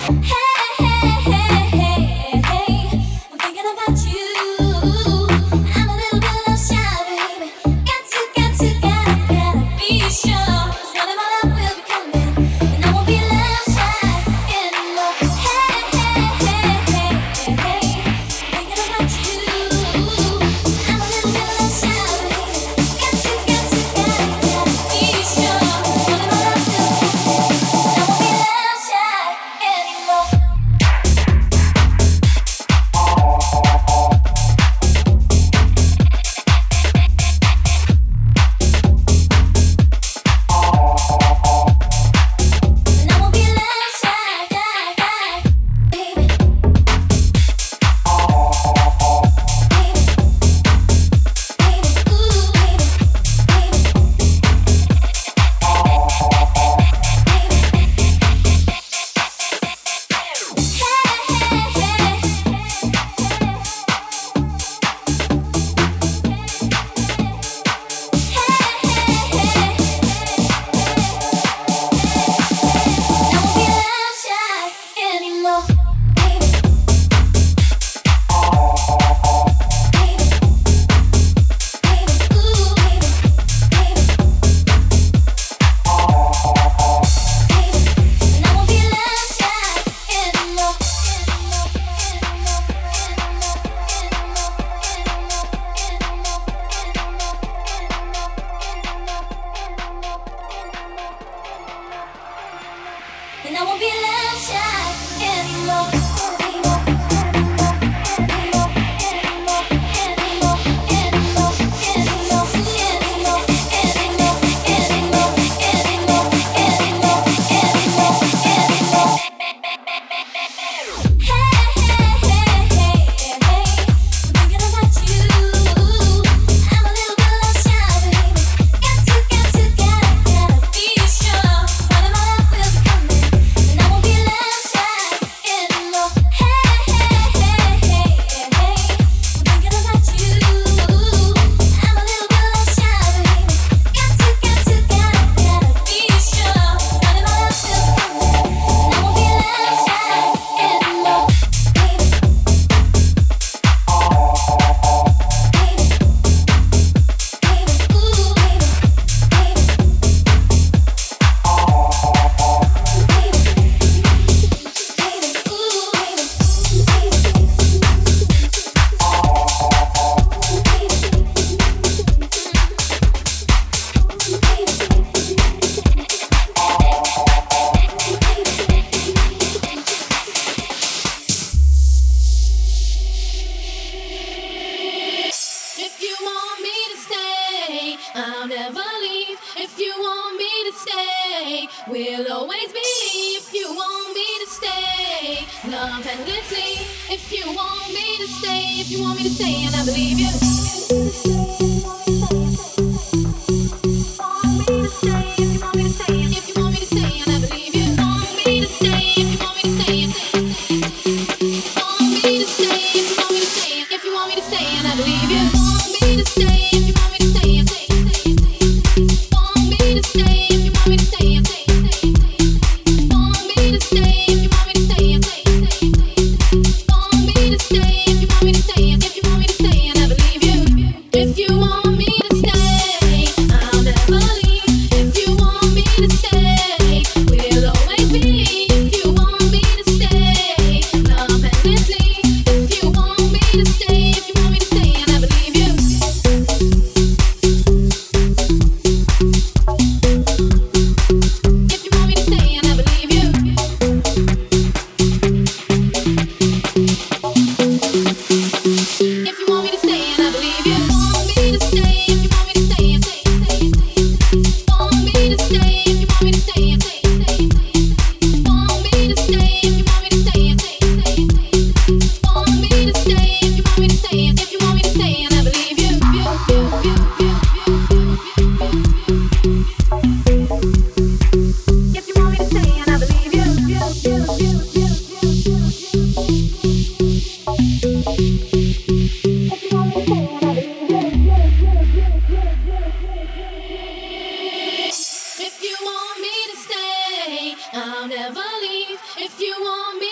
If you want me to stay, I'll never leave. If you want me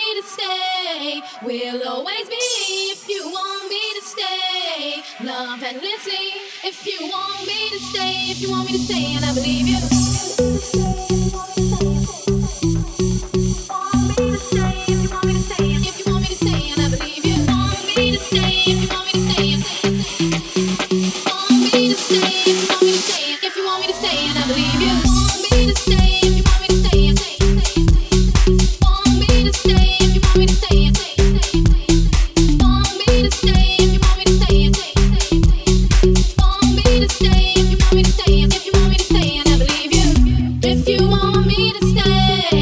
say we'll always be. If you want me to stay, love endlessly. If you want me to stay, if you want me to stay, and I believe you. If you want me to stay,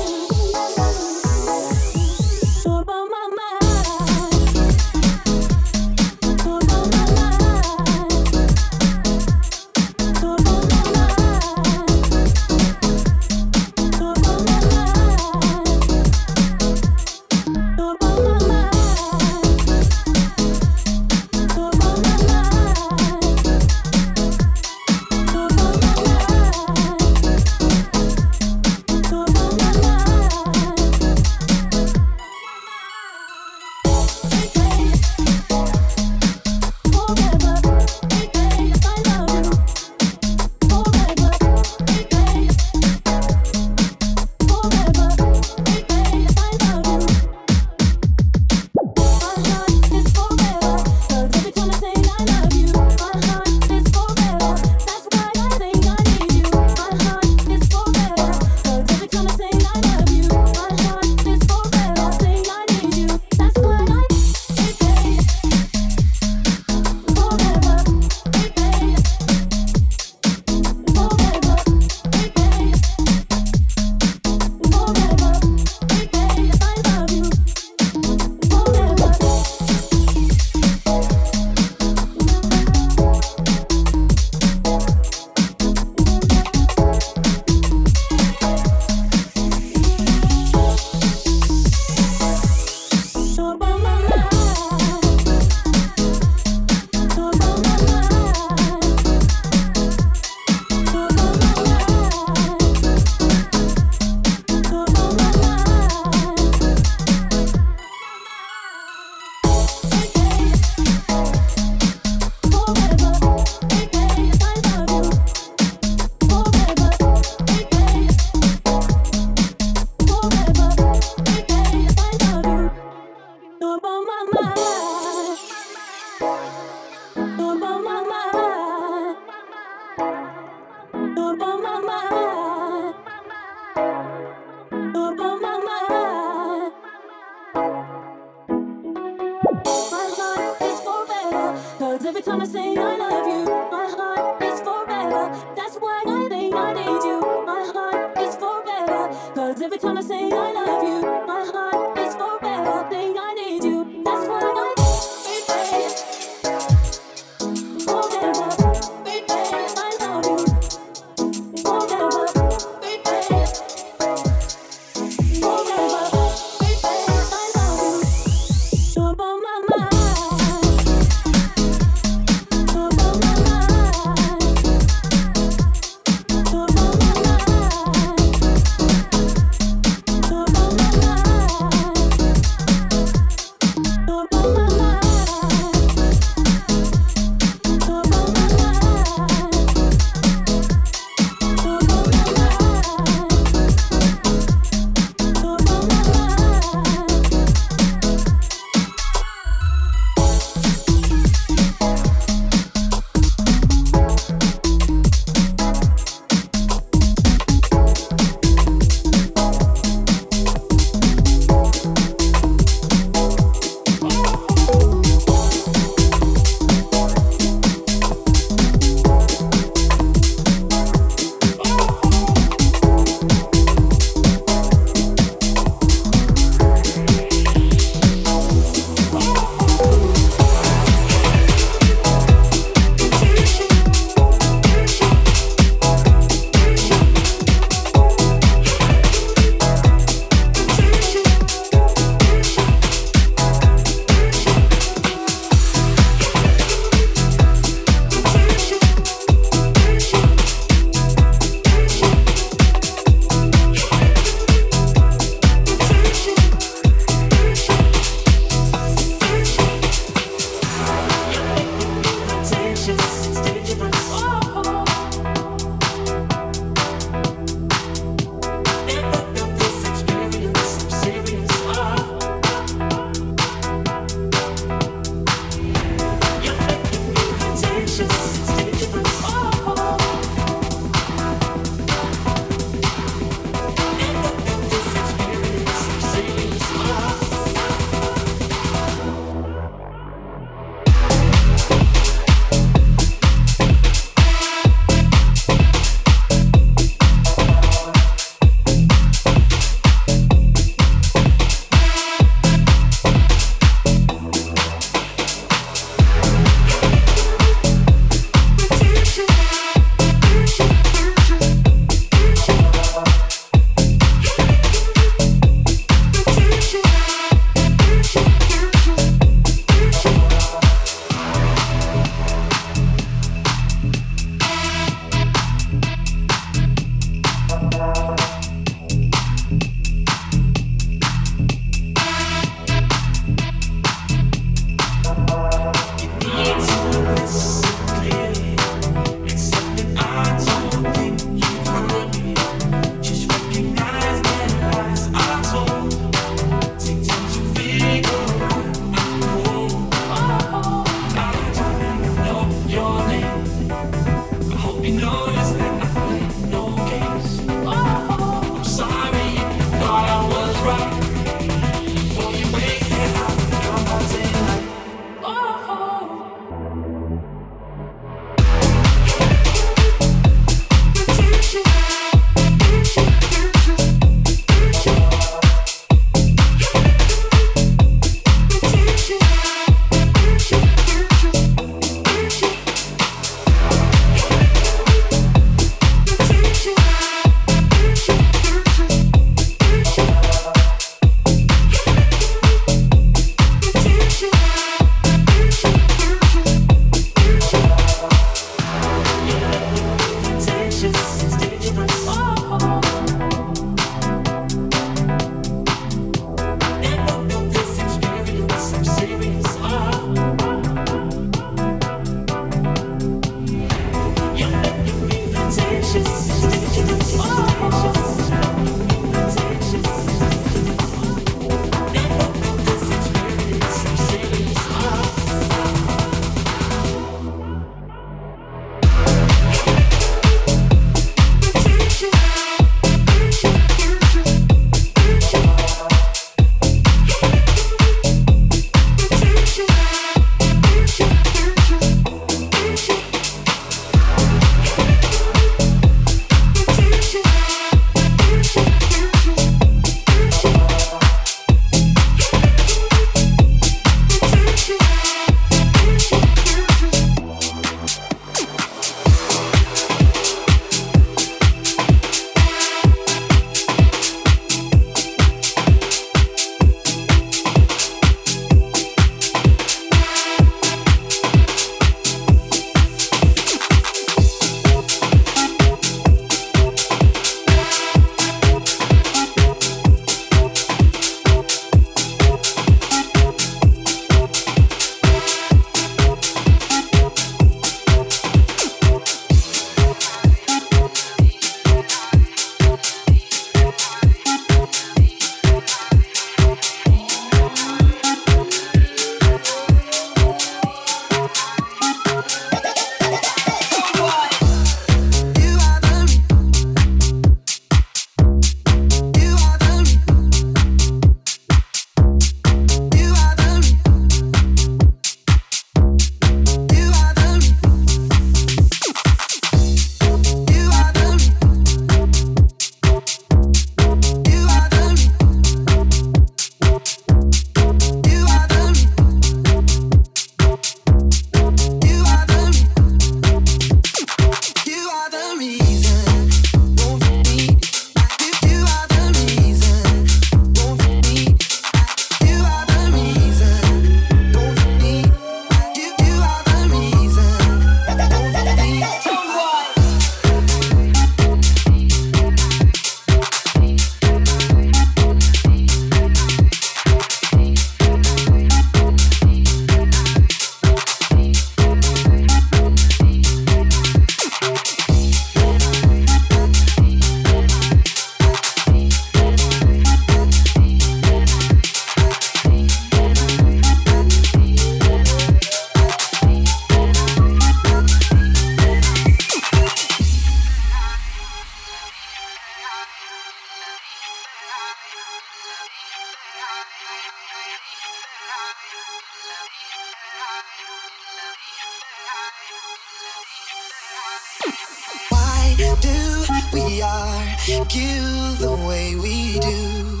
Why do we argue the way we do?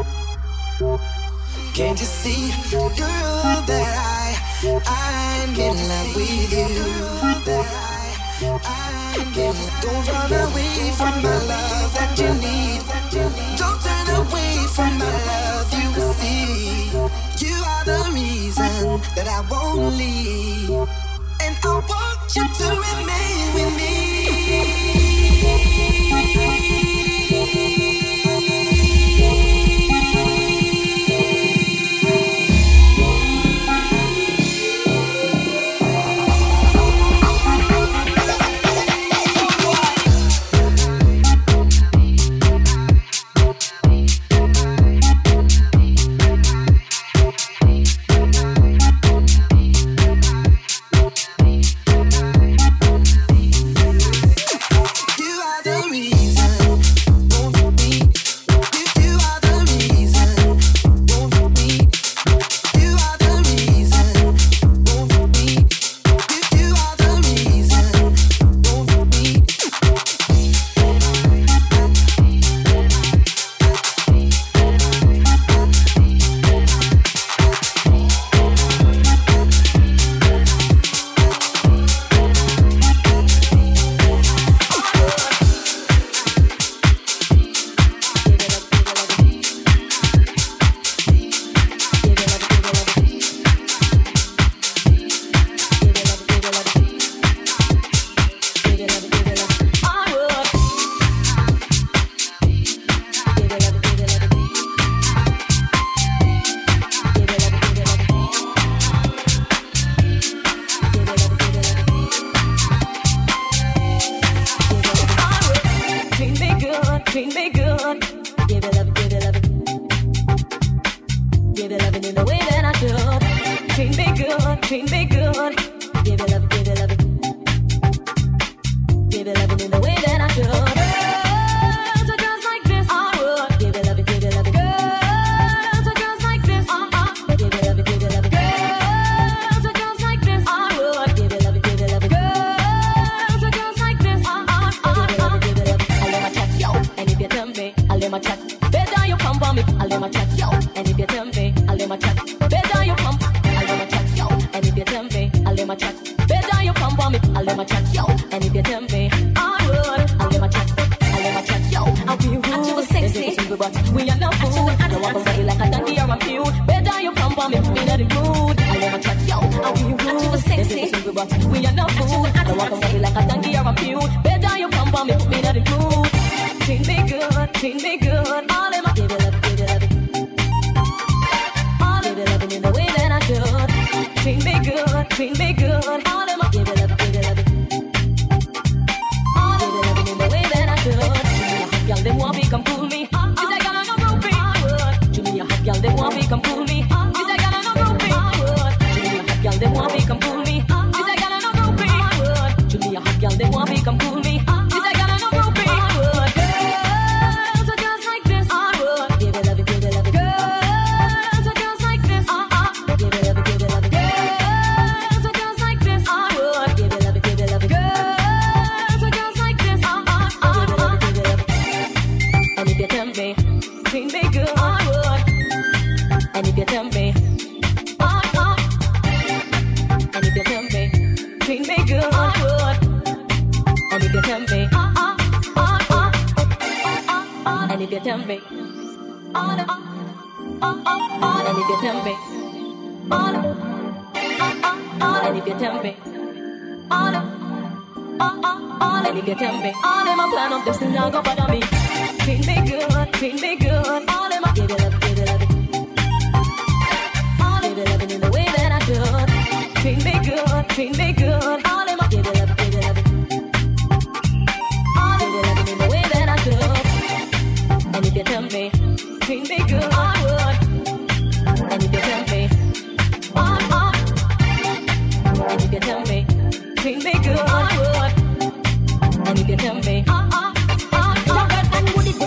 Can't you see, girl, that I'm in love with you? Don't run away from my love that you need. Don't turn away from my love, you will see. You are the reason that I won't leave, and I want you to remain with me.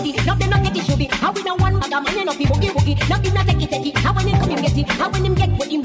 How we no one bag a man enough, he boogie boogie. Now give na take it. How when him come him get it. How when him get what him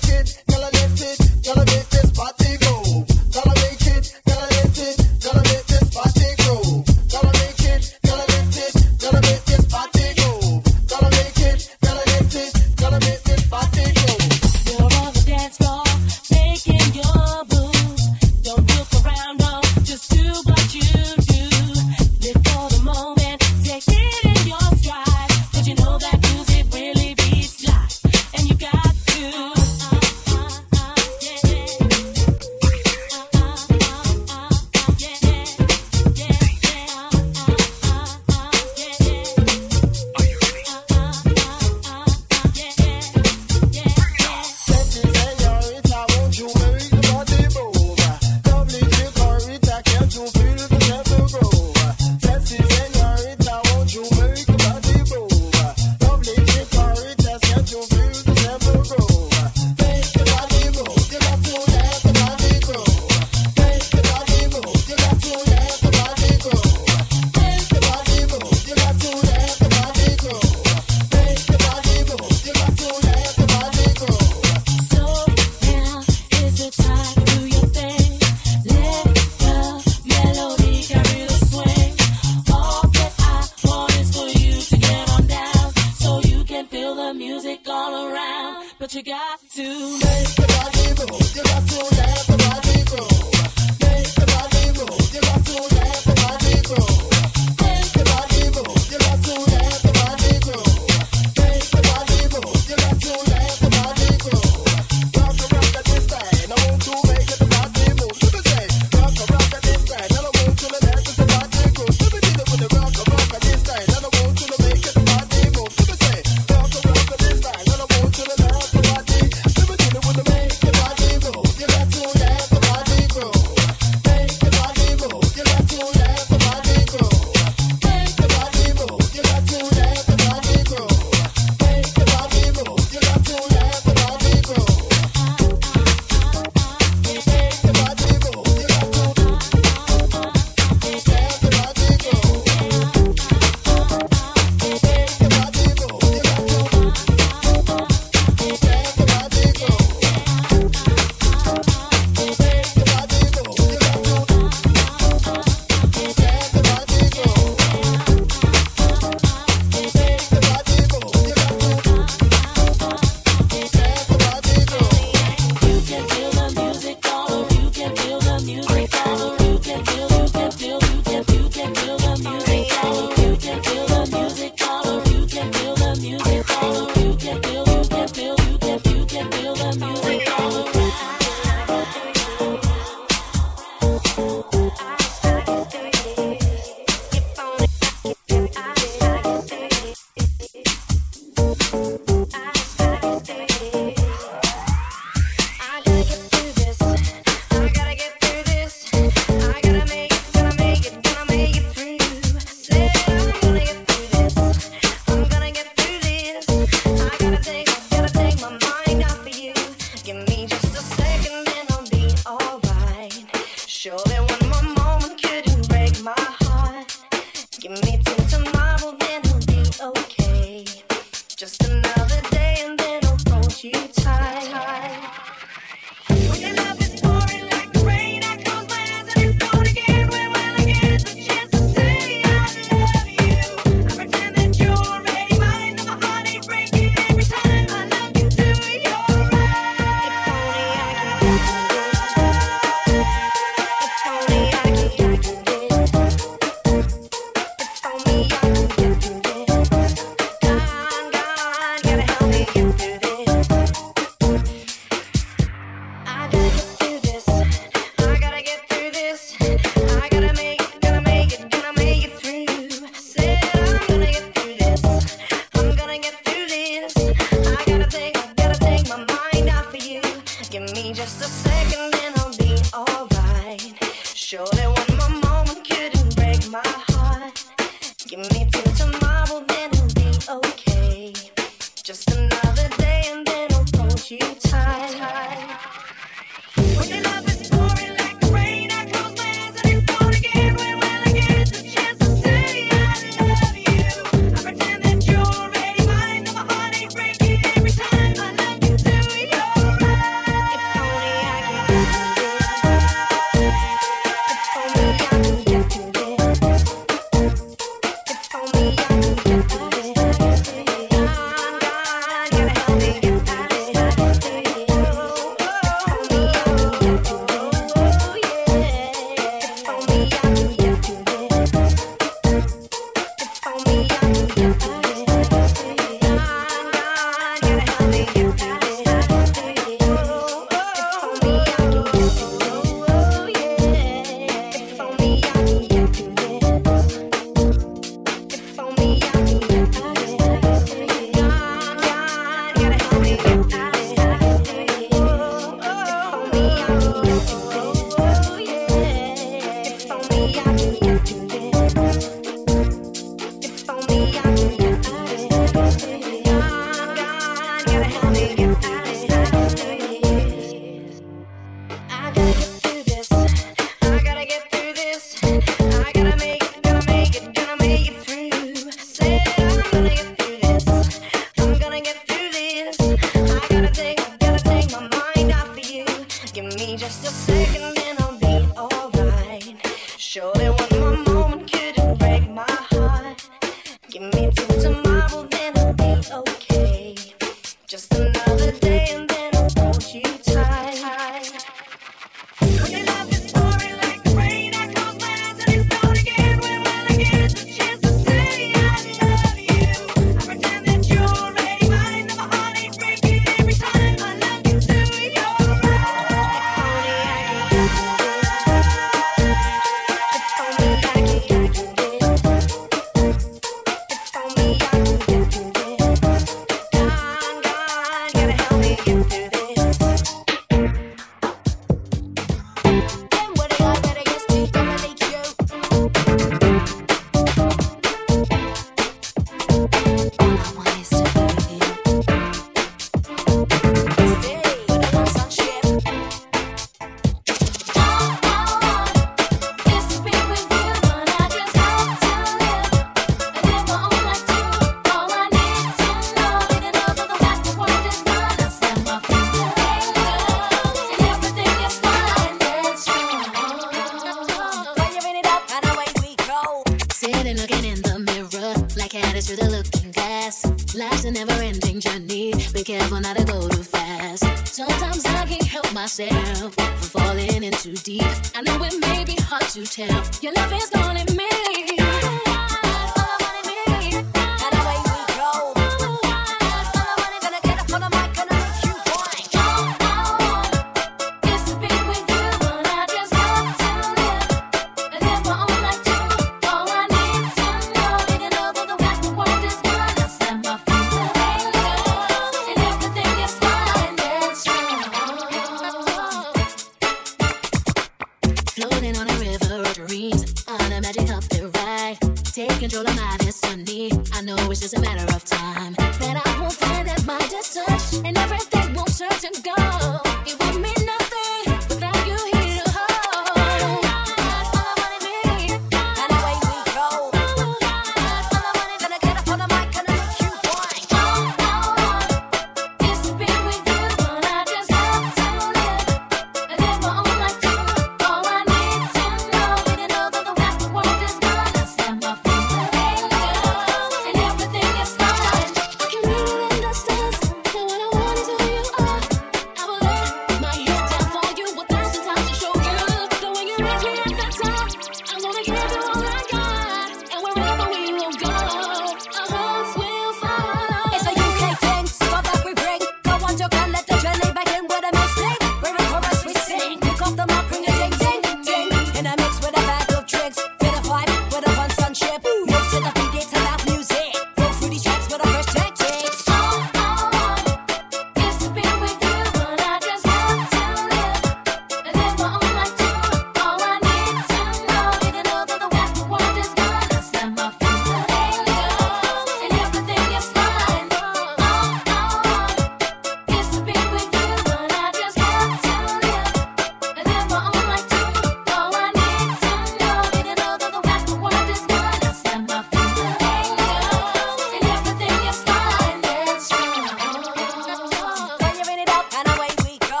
control of my destiny. I know it's just a matter of time that I won't find that my just touch and everything won't turn to gold. It would mean nothing without you here to hold. All I wanna be, and away we go. All I wanna gonna get up on the mic and make you whine. All I want is to be with you, but I just have to live my own life too. All I need to know is to know that the world is gonna set my feet and everything is fine. I can read it in the stars, but what I want is who you are. I will lay my head down for you 1,000 times to show you the way you reach me at the top. I'm gonna give you all I got, and wherever we will go, our hearts will follow. It's a UK thing, stuff that we bring. Go on, you can let the journey begin with a mistake. We're in chorus, we sing. Pick up the mark, bring a ding, ding, ding. In a mix with a bag of tricks. Fit a vibe with a fun sunship. Move to the beat, it's loud music. Go through these tracks with a fresh tactics. All I want is to be with you, but I just have to live my own life too. All I need to know is to know that the world is gonna set my feet and everything is fine. All I want is to be with you, but I just have to live my own life too. All I need to know is to know that the world is gonna set my feet and everything is fine. That's right. Firing it up, and away we go.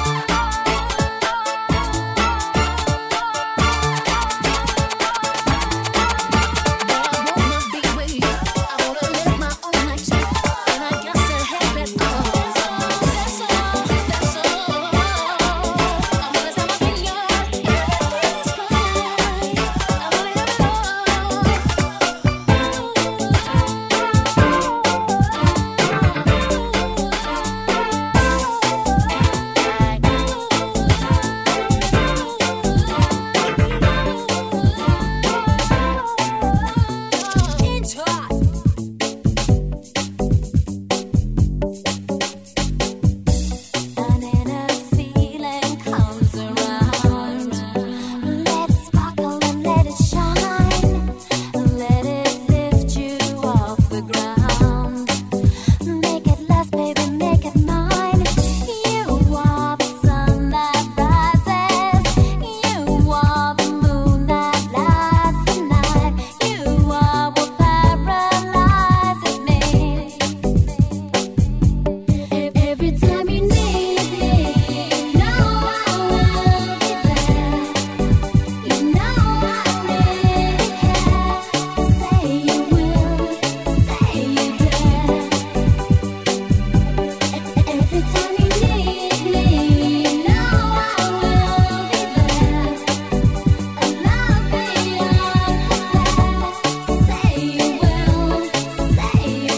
Into us. An inner feeling comes around. Let it sparkle and let it shine. Let it lift you off the ground. Make it last, baby, make it mine. You are the sun that rises. You are the moon that lights the night. You are what paralyzes me. Every time you need me, know I will be there. You know I really care. Say you will, say you dare. Every time you need me, know I will be there. A love beyond compare. Say you will, say you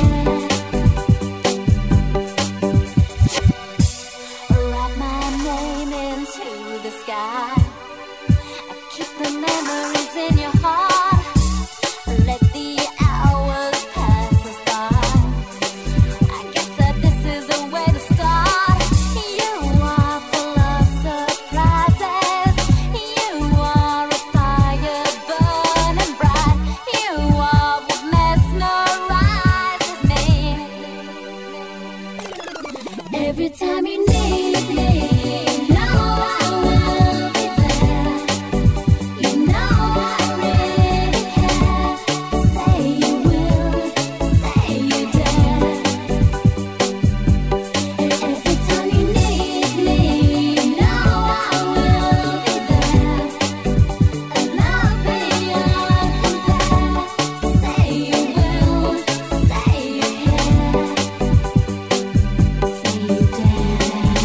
care. Write my name into the sky. Keep the memories in your heart. Let the hours pass us by. I guess that this is a way to start. You are full of surprises. You are a fire burning bright. You are what mesmerizes me. Every time you need me, know I will be there. You know I really care. Say you will, say you dare. Every time you need me, know I will be there. A love beyond compare. Say you will, say you care. Say you dare.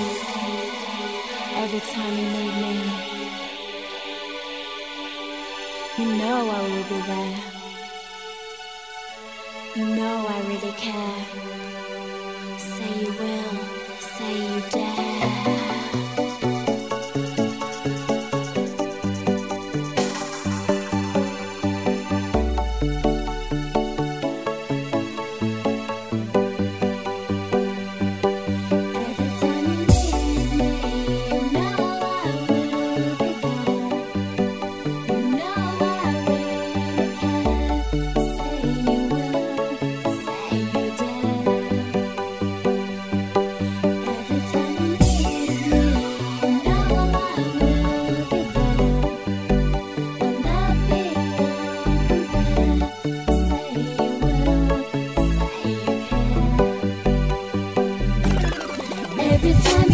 Every time you need me, you know I will be there. You know I really care. Say you will, say you dare. Every time you need me, know I will be there. You know I really care. every time